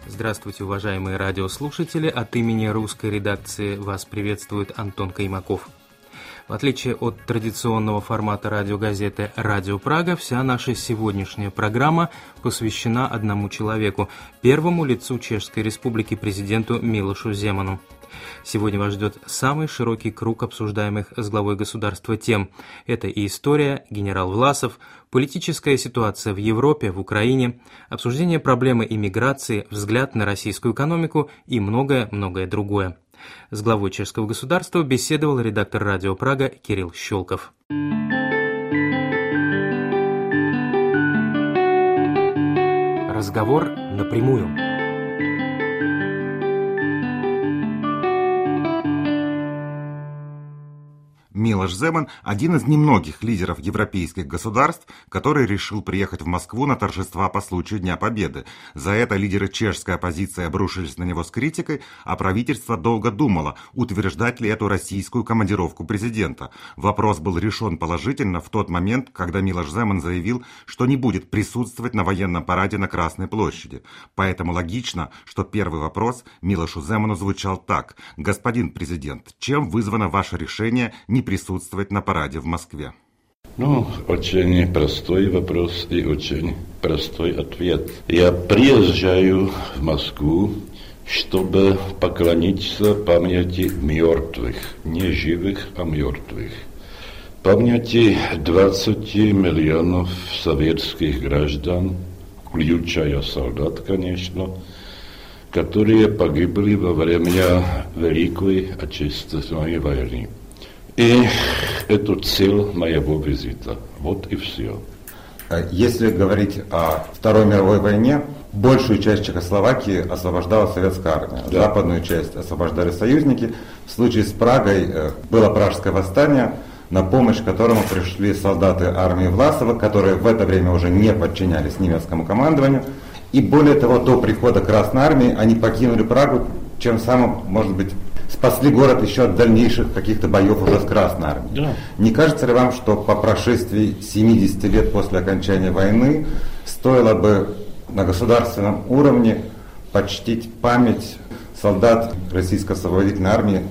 Здравствуйте, уважаемые радиослушатели! От имени русской редакции вас приветствует Антон Каймаков. В отличие от традиционного формата радиогазеты «Радио Прага», вся наша сегодняшняя программа посвящена одному человеку, первому лицу Чешской Республики, президенту Милошу Земану. Сегодня вас ждет самый широкий круг обсуждаемых с главой государства тем. Это и история, генерал Власов, политическая ситуация в Европе, в Украине, обсуждение проблемы иммиграции, взгляд на российскую экономику и многое-многое другое. С главой чешского государства беседовал редактор «Радио Прага» Кирилл Щелков. Разговор напрямую. Милош Земан – один из немногих лидеров европейских государств, который решил приехать в Москву на торжества по случаю Дня Победы. За это лидеры чешской оппозиции обрушились на него с критикой, а правительство долго думало, утверждать ли эту российскую командировку президента. Вопрос был решен положительно в тот момент, когда Милош Земан заявил, что не будет присутствовать на военном параде на Красной площади. Поэтому логично, что первый вопрос Милошу Земану звучал так: «Господин президент, чем вызвано ваше решение не присутствовать на параде в Москве?» Очень простой вопрос и очень простой ответ. Я приезжаю в Москву, чтобы поклониться памяти мертвых, не живых, а мертвых. Памяти 20 миллионов советских граждан, включая солдат, конечно, которые погибли во время Великой Отечественной войны. И это цель моего визита. Вот и все. Если говорить о Второй мировой войне, большую часть Чехословакии освобождала советская армия. Да. Западную часть освобождали союзники. В случае с Прагой было Пражское восстание, на помощь которому пришли солдаты армии Власова, которые в это время уже не подчинялись немецкому командованию. И более того, до прихода Красной армии они покинули Прагу, чем самым, может быть, спасли город еще от дальнейших каких-то боев уже с Красной армией. Да. Не кажется ли вам, что по прошествии 70 лет после окончания войны стоило бы на государственном уровне почтить память солдат Российской освободительной армии?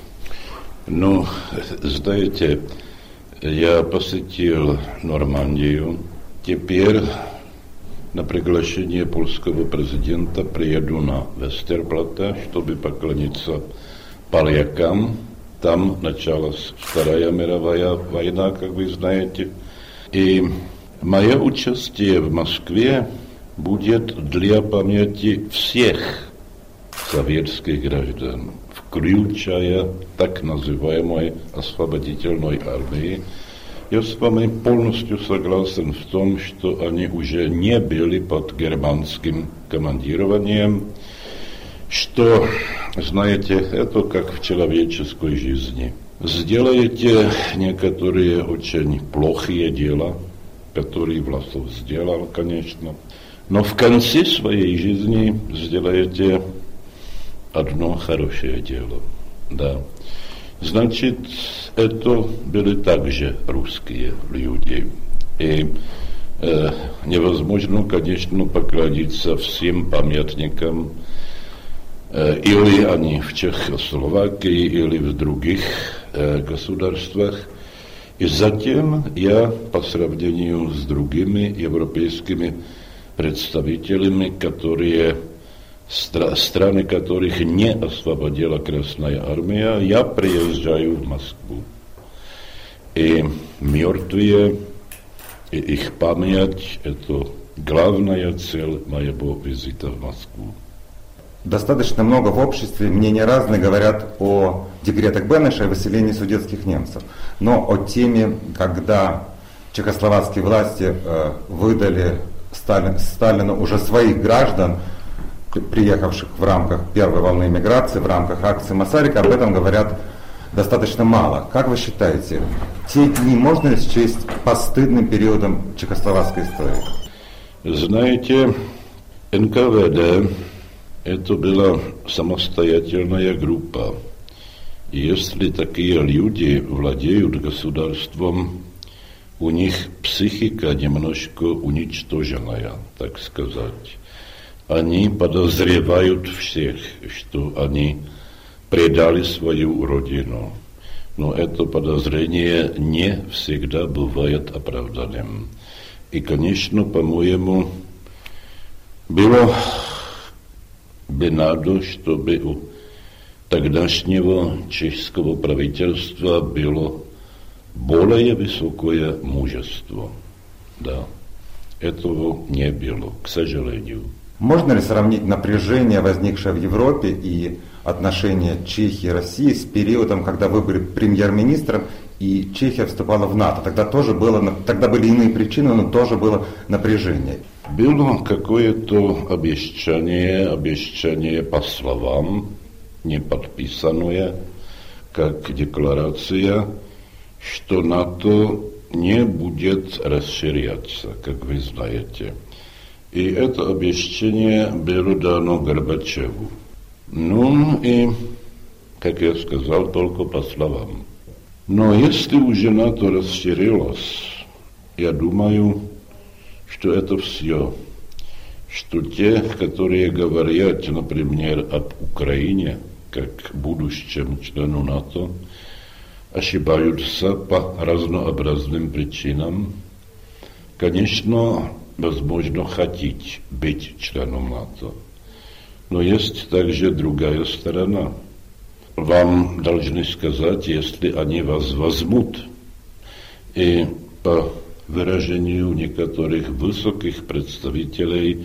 Знаете, я посетил Нормандию. Теперь на приглашение польского президента приеду на Вестерплате, чтобы поклониться полякам. Там началась Вторая мировая война, как вы знаете. И мое участие в Москве будет для памяти всех советских граждан, включая так называемой освободительной армии. Я с вами полностью согласен в том, что они уже не были под германским командированием, что, знаете, это как в человеческой жизни. Сделаете некоторые очень плохие дела, которые Власов сделал, конечно, но в конце своей жизни сделаете одно хорошее дело. Да. Значит, это были также русские люди. И невозможно, конечно, поклониться всем памятникам, или они в Чехословакии, или в других государствах. И затем я, по сравнению с другими европейскими представителями, страны которых не освободила Красная армия, я приезжаю в Москву. И мертвые, и их память – это главная цель моего визита в Москву. Достаточно много в обществе, мнения разные, говорят о декретах Бенеша и выселении судетских немцев. Но о теме, когда чехословацкие власти выдали Сталину уже своих граждан, приехавших в рамках первой волны миграции, в рамках акции Масарика, об этом говорят достаточно мало. Как вы считаете, те дни можно ли счесть постыдным периодом чехословацкой истории? Знаете, НКВД это была самостоятельная группа. И если такие люди владеют государством, у них психика немножко уничтоженная, так сказать. Они подозревают всех, что они предали свою родину. Но это подозрение не всегда бывает оправданным. И, конечно, по-моему, было бы надо, чтобы у тогдашнего чешского правительства было более высокое мужество. Да, этого не было, к сожалению. Можно ли сравнить напряжение, возникшее в Европе, и отношения Чехии и России с периодом, когда вы были премьер-министром и Чехия вступала в НАТО? Тогда были иные причины, но тоже было напряжение. Было какое-то обещание по словам, не подписанное, как декларация, что НАТО не будет расширяться, как вы знаете. И это обещание было дано Горбачеву. Ну и, как я сказал, только по словам. Но если уже НАТО расширилось, я думаю, что это все. Что те, которые говорят, например, об Украине, как будущем члену НАТО, ошибаются по разнообразным причинам. Конечно, возможно хотеть быть членом НАТО. Но есть также другая сторона. Вам должны сказать, если они вас возьмут. И по выражению некоторых высоких представителей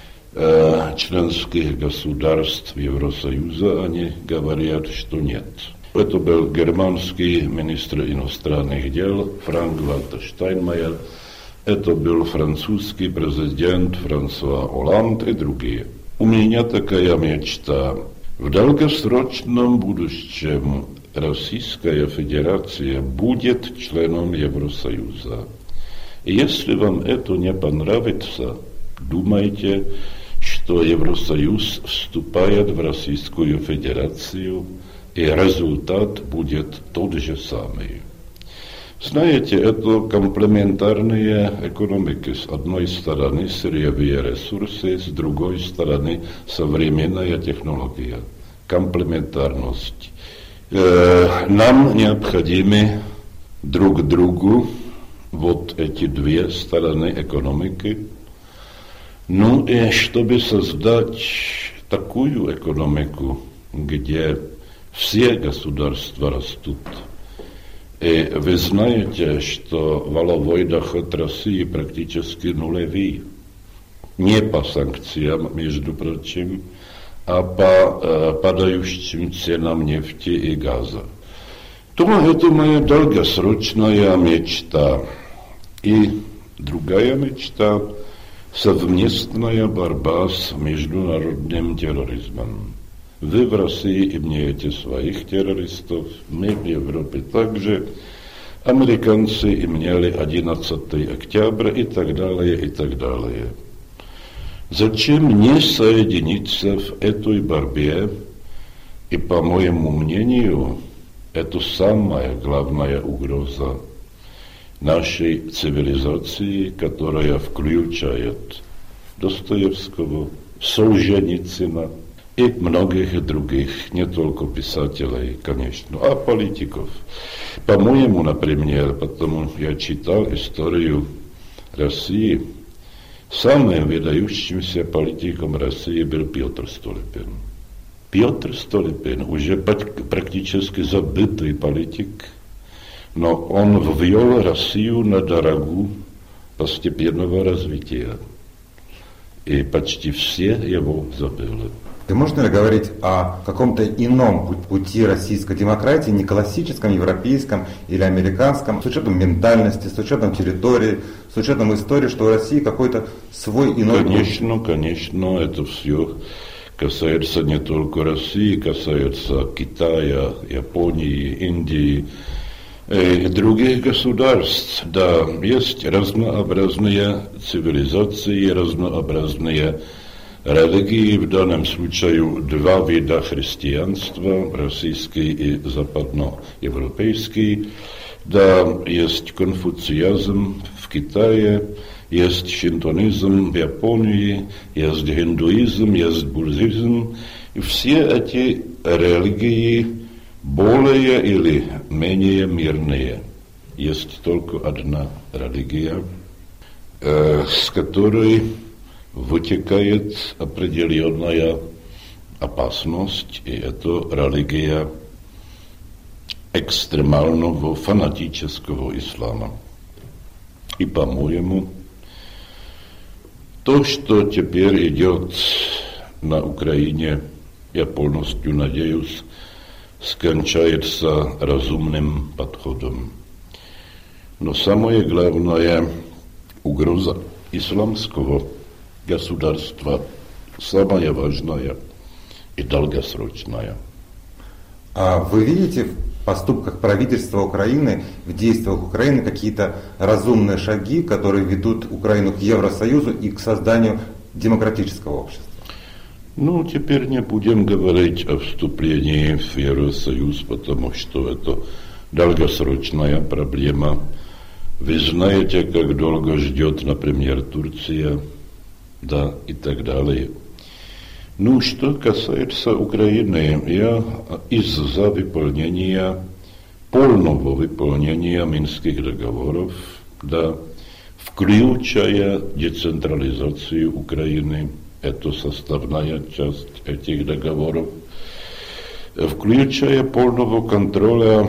членских государств Евросоюза, они говорят, что нет. Это был германский министр иностранных дел Франк-Вальтер Штайнмайер, это был французский президент Франсуа Оланд и другие. У меня такая мечта. В долгосрочном будущем Российская Федерация будет членом Евросоюза. И если вам это не понравится, думайте, что Евросоюз вступает в Российскую Федерацию, и результат будет тот же самый. Знаете, это комплементарные экономики. С одной стороны сырьевые ресурсы, с другой стороны современная технология. Комплементарность. Нам необходимы друг другу вот эти две стороны экономики. Ну и чтобы создать такую экономику, где все государства растут. И вы знаете, что валовой доход России практически нулевый. Не по санкциям, между прочим, а по падающим ценам нефти и газа. То это моя долгосрочная мечта. И другая мечта – совместная борьба с международным терроризмом. Вы в России имеете своих террористов, мы в Европе также. Американцы имели 11 октября и так далее, и так далее. Зачем не соединиться в этой борьбе? И, по моему мнению, это самая главная угроза нашей цивилизации, которая включает Достоевского, Солженицына и многих других, не только писателей, конечно, а политиков. По-моему, например, потому я читал историю России, самым выдающимся политиком России был Петр Столыпин. Петр Столыпин уже практически забытый политик, но он ввел Россию на дорогу постепенного развития. И почти все его забыли. И можно ли говорить о каком-то ином пути российской демократии, не классическом, европейском или американском, с учетом ментальности, с учетом территории, с учетом истории, что у России какой-то свой иной путь? Конечно, это все касается не только России, касается Китая, Японии, Индии и других государств. Да, есть разнообразные цивилизации, разнообразные религии, в данном случае два вида христианства, российский и западноевропейский. Да, есть конфуцианизм в Китае, есть шинтоизм в Японии, есть индуизм, есть буддизм. И все эти религии более или менее мирные. Есть только одна религия, с которой вытекает определенная опасность, и это религия экстремального фанатического ислама. И, по-моему, то, что теперь идет на Украине, я полностью надеюсь, скончается разумным подходом. Но самое главное, угроза исламского государства самая важная и долгосрочная. А вы видите в поступках правительства Украины, в действиях Украины какие-то разумные шаги, которые ведут Украину к Евросоюзу и к созданию демократического общества? Ну, теперь не будем говорить о вступлении в Евросоюз, потому что это долгосрочная проблема. Вы знаете, как долго ждет, например, Турция, да, и так далее. Ну, что касается Украины, я из-за выполнения, полного выполнения Минских договоров, да, включая децентрализацию Украины, это составная часть этих договоров, включая полного контроля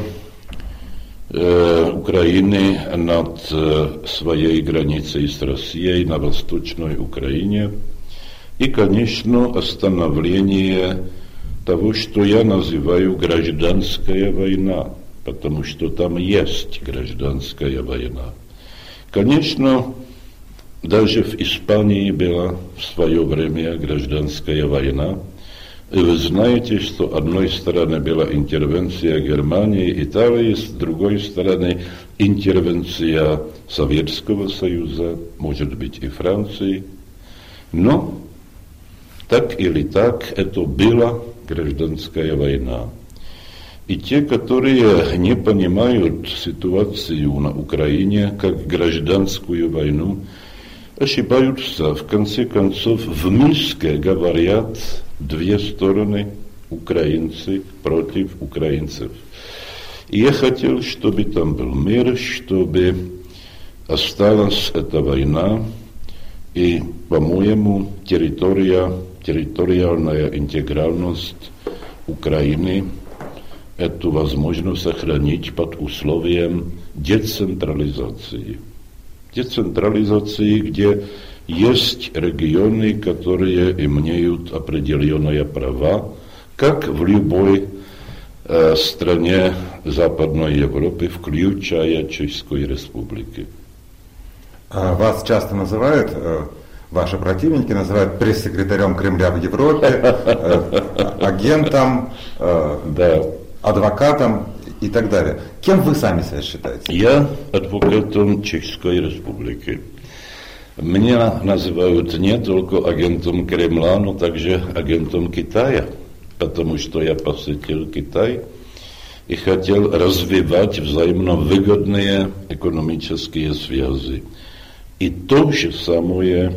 Украины над своей границей с Россией на Восточной Украине и, конечно, остановление того, что я называю гражданская война, потому что там есть гражданская война. Конечно, даже в Испании была в свое время гражданская война. И вы знаете, что с одной стороны была интервенция Германии, Италии, с другой стороны интервенция Советского Союза, может быть и Франции. Но так или так, это была гражданская война. И те, которые не понимают ситуацию на Украине как гражданскую войну, ошибаются. В конце концов, в Минске говорят две стороны, украинцы против украинцев. И я хотел, чтобы там был мир, чтобы осталась эта война, и, по-моему, территориальная интегральность Украины эту возможно сохранить под условием децентрализации. Децентрализации, где есть регионы, которые имеют определенные права, как в любой стране Западной Европы, включая Чешской Республики. Вас часто называют, ваши противники называют пресс-секретарем Кремля в Европе, агентом, адвокатом и так далее. Кем вы сами себя считаете? Я адвокатом Чешской Республики. Меня называют не только агентом Кремля, но также агентом Китая, потому что я посетил Китай и хотел развивать взаимно выгодные экономические связи. И то же самое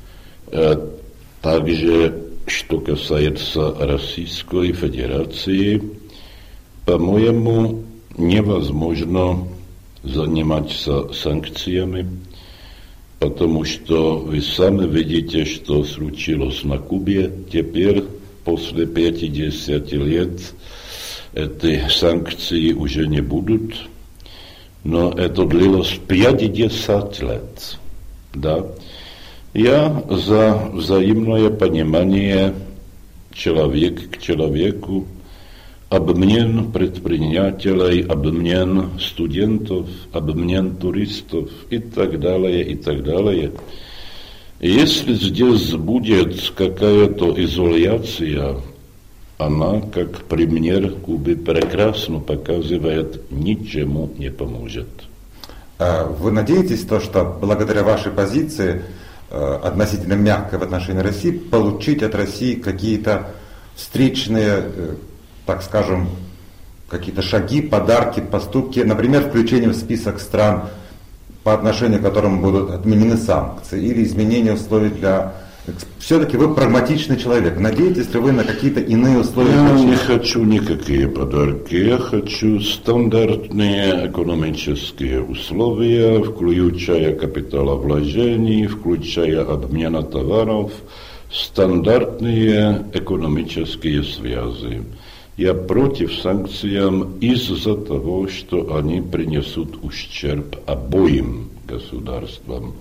также, что касается Российской Федерации, по-моему, невозможно заниматься санкциями, потому что вы сами видите, что случилось на Кубе. Теперь, после 50 лет, эти санкции уже не будут, но это длилось 50 лет. Да? Я за взаимное понимание человек к человеку, обмен предпринимателей, обмен студентов, обмен туристов и так далее, и так далее. Если здесь будет какая-то изоляция, она, как пример Кубы, прекрасно показывает, ничему не поможет. Вы надеетесь, что благодаря вашей позиции, относительно мягкой в отношении России, получить от России какие-то встречные, так скажем, какие-то шаги, подарки, поступки, например, включение в список стран по отношению к которому будут отменены санкции или изменения условий для... Все-таки вы прагматичный человек. Надеетесь ли вы на какие-то иные условия? Я не хочу никакие подарки. Я хочу стандартные экономические условия, включая капиталовложений, включая обмена товаров, стандартные экономические связи. Я против санкций из-за того, что они принесут ущерб обоим государствам.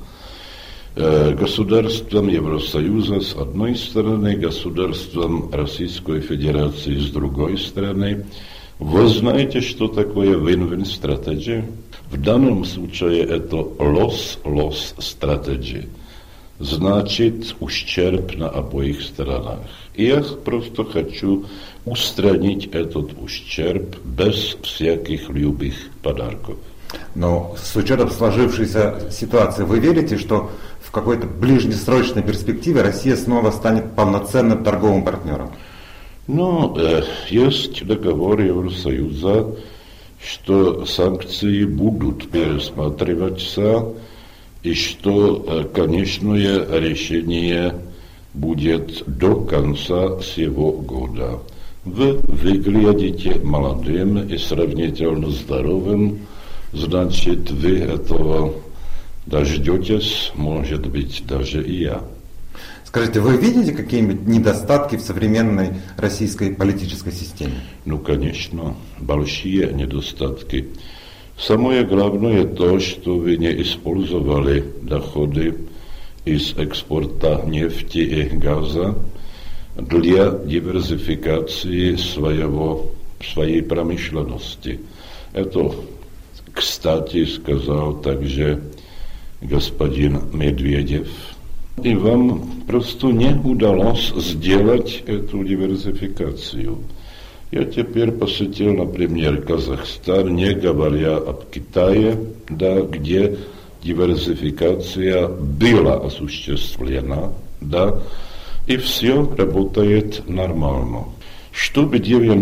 Государством Евросоюза с одной стороны, государством Российской Федерации с другой стороны. Вы знаете, что такое win-win strategy? В данном случае это loss-loss strategy. Значит, ущерб на обоих сторонах. И я просто хочу устранить этот ущерб без всяких любых подарков. Но с учетом сложившейся ситуации, вы верите, что в какой-то ближнесрочной перспективе Россия снова станет полноценным торговым партнером? Ну, есть договор Евросоюза, что санкции будут пересматриваться, и что конечное решение будет до конца сего года. Вы выглядите молодым и сравнительно здоровым, значит, вы этого дождетесь, может быть, даже и я. Скажите, вы видите какие-нибудь недостатки в современной российской политической системе? Ну, конечно, большие недостатки. Самое главное то, что вы не использовали доходы из экспорта нефти и газа для диверсификации своей промышленности. Это, кстати, сказал также господин Медведев. И вам просто не удалось сделать эту диверсификацию. Я теперь посетил, например, Казахстан, не говоря об Китае, да, где диверсификация была осуществлена, да, и все работает нормально. Чтобы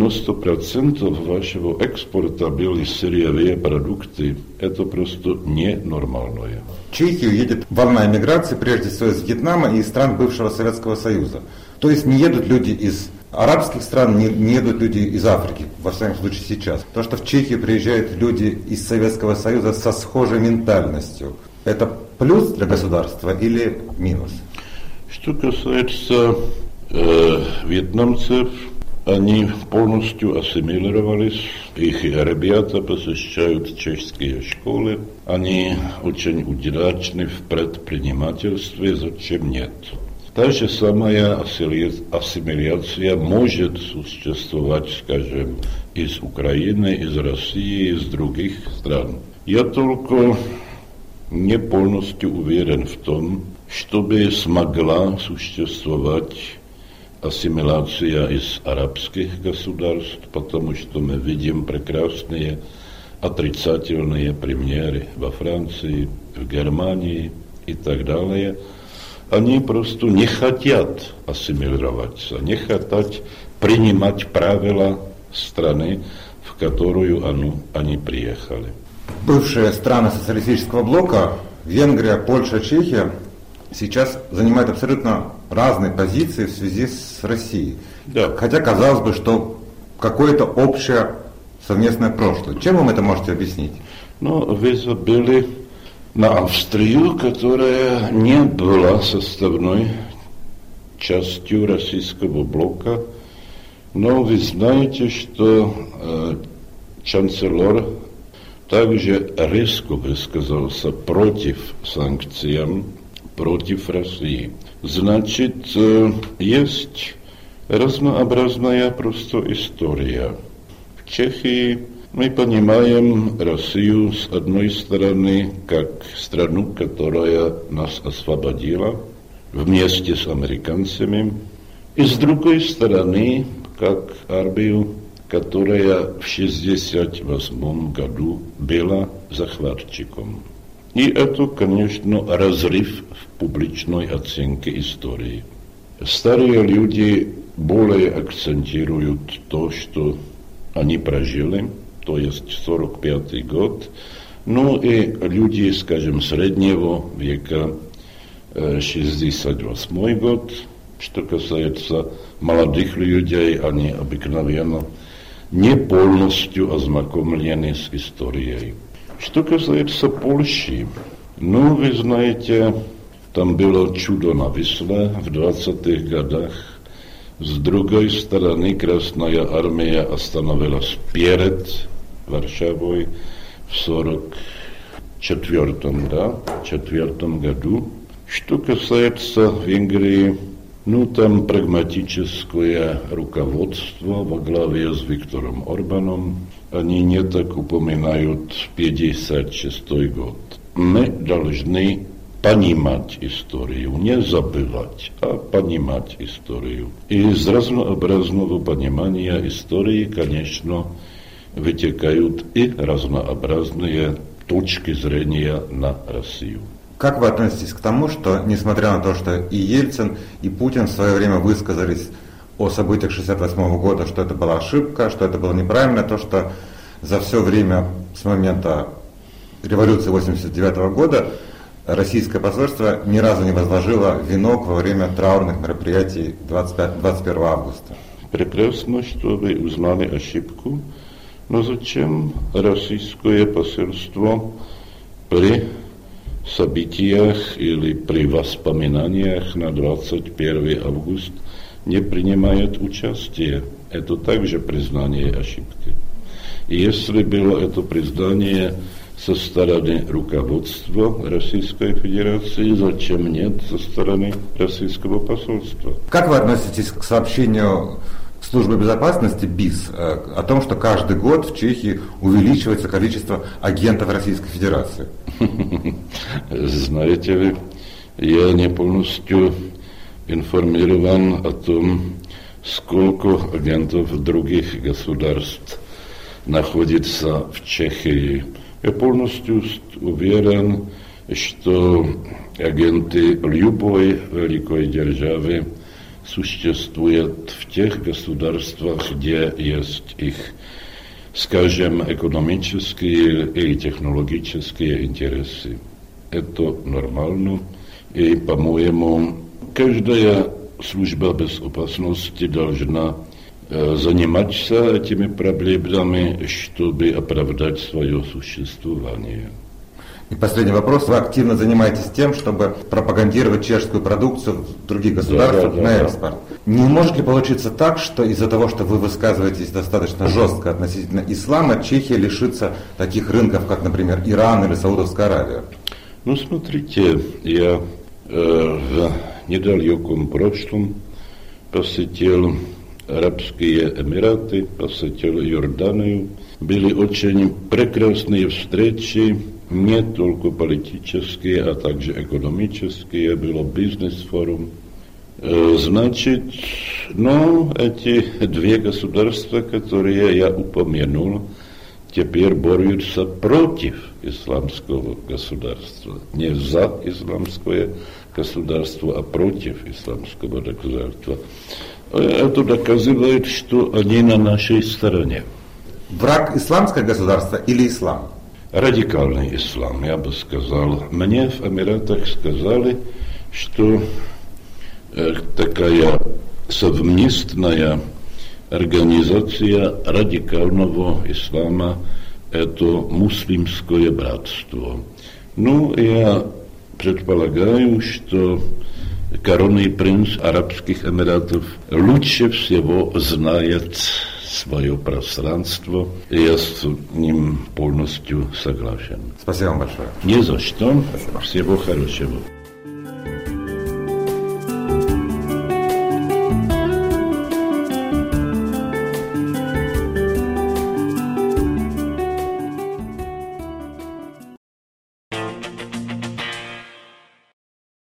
90% вашего экспорта были сырьевые продукты, это просто ненормальное. В Чехию едет волна эмиграции, прежде всего из Вьетнама и из стран бывшего Советского Союза. То есть не едут люди из арабских стран, не едут люди из Африки, во всяком случае сейчас. То, что в Чехию приезжают люди из Советского Союза со схожей ментальностью, это плюс для государства или минус? Что касается вьетнамцев, они полностью ассимилировались, их ребята посещают чешские школы, они очень удачны в предпринимательстве, зачем нет? Та же самая ассимиляция может существовать, скажем, из Украины, из России, из других стран. Я только не полностью уверен в том, чтобы смогла существовать ассимиляция из арабских государств, потому что мы видим прекрасные отрицательные примеры во Франции, в Германии и так далее. Они просто не хотят ассимилироваться, не хотят принимать правила страны, в которую они приехали. Бывшие страны социалистического блока, Венгрия, Польша, Чехия, сейчас занимают абсолютно разные позиции в связи с Россией. Да. Хотя казалось бы, что какое-то общее совместное прошлое. Чем вы это можете объяснить? Ну, вы забыли на Австрию, которая не была составной частью российского блока. Но вы знаете, что чанцелор также резко высказался против санкций, против России. Значит, есть разнообразная просто история. В Чехии мы понимаем Россию с одной стороны как страну, которая нас освободила вместе с американцами, и с другой стороны как армию, которая в 1968 году была захватчиком. И это, конечно, разрыв в публичной оценке истории. Старые люди более акцентируют то, что они прожили, то есть 1945 год, Ну и люди, скажем, среднего века, 68 год, что касается молодых людей, они обыкновенно не полностью ознакомлены с историей. Что касается Польши, ну, вы знаете, там было чудо на Висле в 20-х годах. С другой стороны, Красная Армия остановилась перед Варшавой в 1944 году. Что касается Венгрии, ну, там прагматическое руководство во главе с Виктором Орбаном. Они не так упоминают 1956 год. Мы должны понимать историю, не забывать, а понимать историю. И из разнообразного понимания истории, конечно, вытекают и разнообразные точки зрения на Россию. Как вы относитесь к тому, что, несмотря на то, что и Ельцин, и Путин в свое время высказались о событиях 1968 года, что это была ошибка, что это было неправильно, то, что за все время с момента революции 1989 года российское посольство ни разу не возложило венок во время траурных мероприятий 21 августа? Прекрасно, что вы узнали ошибку, но зачем российское посольство при событиях или при воспоминаниях на 21 август не принимает участие? Это также признание ошибки. И если было это признание со стороны руководства Российской Федерации, зачем нет со стороны российского посольства? Как вы относитесь к сообщению Службы безопасности БИС о том, что каждый год в Чехии увеличивается количество агентов Российской Федерации? Знаете ли, я не полностью информирован о том, сколько агентов других государств находится в Чехии. Я полностью уверен, что агенты любой великой державы существуют в тех государствах, где есть их, скажем, экономические и технологические интересы. Это нормально. И, по-моему, каждая служба безопасности должна заниматься этими проблемами, чтобы оправдать свое существование. И последний вопрос. Вы активно занимаетесь тем, чтобы пропагандировать чешскую продукцию в других государствах на экспорт. Не может ли получиться так, что из-за того, что вы высказываетесь достаточно жестко относительно ислама, Чехия лишится таких рынков, как, например, Иран или Саудовская Аравия? Ну, смотрите, я в недалеком прошлом посетил Арабские Эмираты, посетил Иорданию. Были очень прекрасные встречи, не только политические, а также экономические. Было бизнес-форум. Значит, эти две государства, которые я упомянул, теперь борются против исламского государства. Не за исламское государство, а против исламского государства. Это доказывает, что они на нашей стороне. Враг исламское государство или ислам? Радикальный ислам, я бы сказал. Мне в Эмиратах сказали, что такая совместная организация радикального ислама – это муслимское братство. Я предполагаю, что коронный принц Арабских Эмиратов лучше всего знает свое пространство, и я с ним полностью согласен. Спасибо вам большое. Не за что. Спасибо. Всего хорошего.